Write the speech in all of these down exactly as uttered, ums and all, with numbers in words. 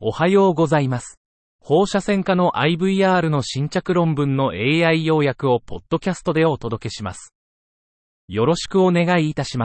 おはようございます。放射線科の アイブイアール の新着論文の エーアイ 要約をポッドキャストでお届けします。よろしくお願いいたします。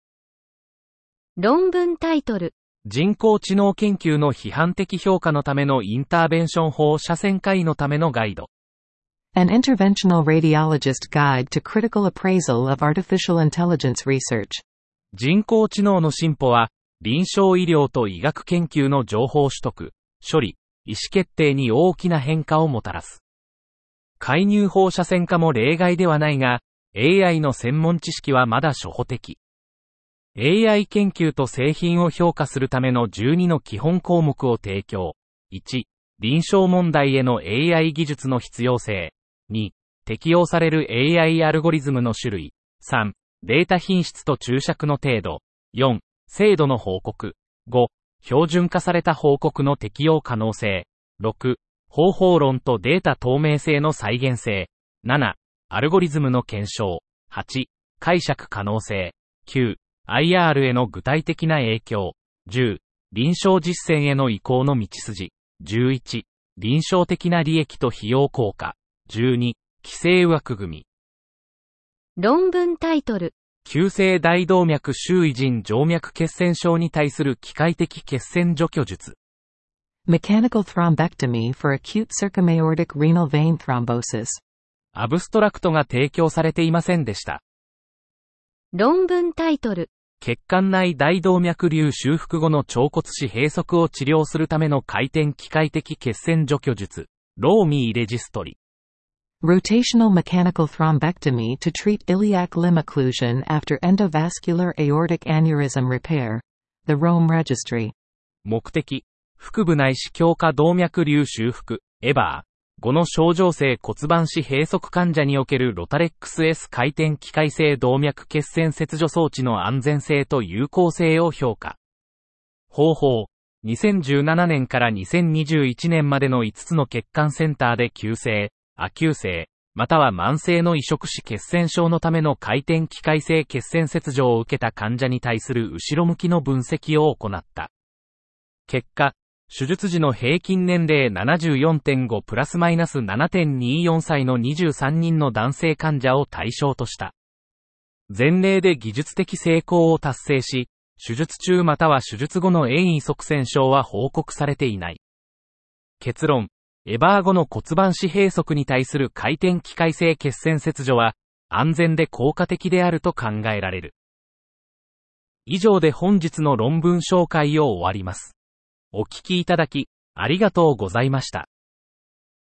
論文タイトル。 人工知能研究の批判的評価のためのインターベンション放射線科医のためのガイド。 An interventional radiologist guide to critical appraisal of artificial intelligence research. 人工知能の進歩は、臨床医療と医学研究の情報取得、処理、意思決定に大きな変化をもたらす。介入放射線科も例外ではないが、エーアイ の専門知識はまだ初歩的。エーアイ 研究と製品を評価するためのじゅうにの基本項目を提供。いち、臨床問題への エーアイ 技術の必要性。に、適用される エーアイ アルゴリズムの種類。さん、データ品質と注釈の程度。よん、精度の報告。ご、標準化された報告の適用可能性。ろく、方法論とデータ透明性の再現性。なな、アルゴリズムの検証。はち、解釈可能性。きゅう、アイアール への具体的な影響。じゅう、臨床実践への移行の道筋。じゅういち、臨床的な利益と費用効果。じゅうに、規制枠組み。 論文タイトル。 急性大動脈周囲腎静脈血栓症に対する機械的血栓除去術。 Mechanical thrombectomy for acute circumaortic renal vein thrombosis。 アブストラクトが提供されていませんでした。 論文タイトル。 血管内大動脈瘤修復後の腸骨死閉塞を治療するための回転機械的血栓除去術。ローミーレジストリ。 Rotational mechanical thrombectomy to treat iliac limb occlusion after endovascular aortic aneurysm repair. The Rome Registry. 目的、腹部内視強化動脈瘤修復、エバー。後の症状性骨盤死閉塞患者におけるロタレックス S 回転機械性動脈血栓切除装置の安全性と有効性を評価。方法、にせんじゅうななねんからにせんにじゅういちねんまでのいつつの血管センターで急性、亜急性、または慢性の移植死血栓症のための回転機械性血栓切除を受けた患者に対する後ろ向きの分析を行った。結果、手術時の平均年齢 ななじゅうよんてんご プラスマイナス ななてんにじゅうよん 歳のにじゅうさんにんの男性患者を対象とした。前例で技術的成功を達成し、手術中または手術後の遠位側栓症は報告されていない。結論。エバー後の骨盤死閉塞に対する回転機械性血栓切除は安全で効果的であると考えられる。以上で本日の論文紹介を終わります。お聞きいただきありがとうございました。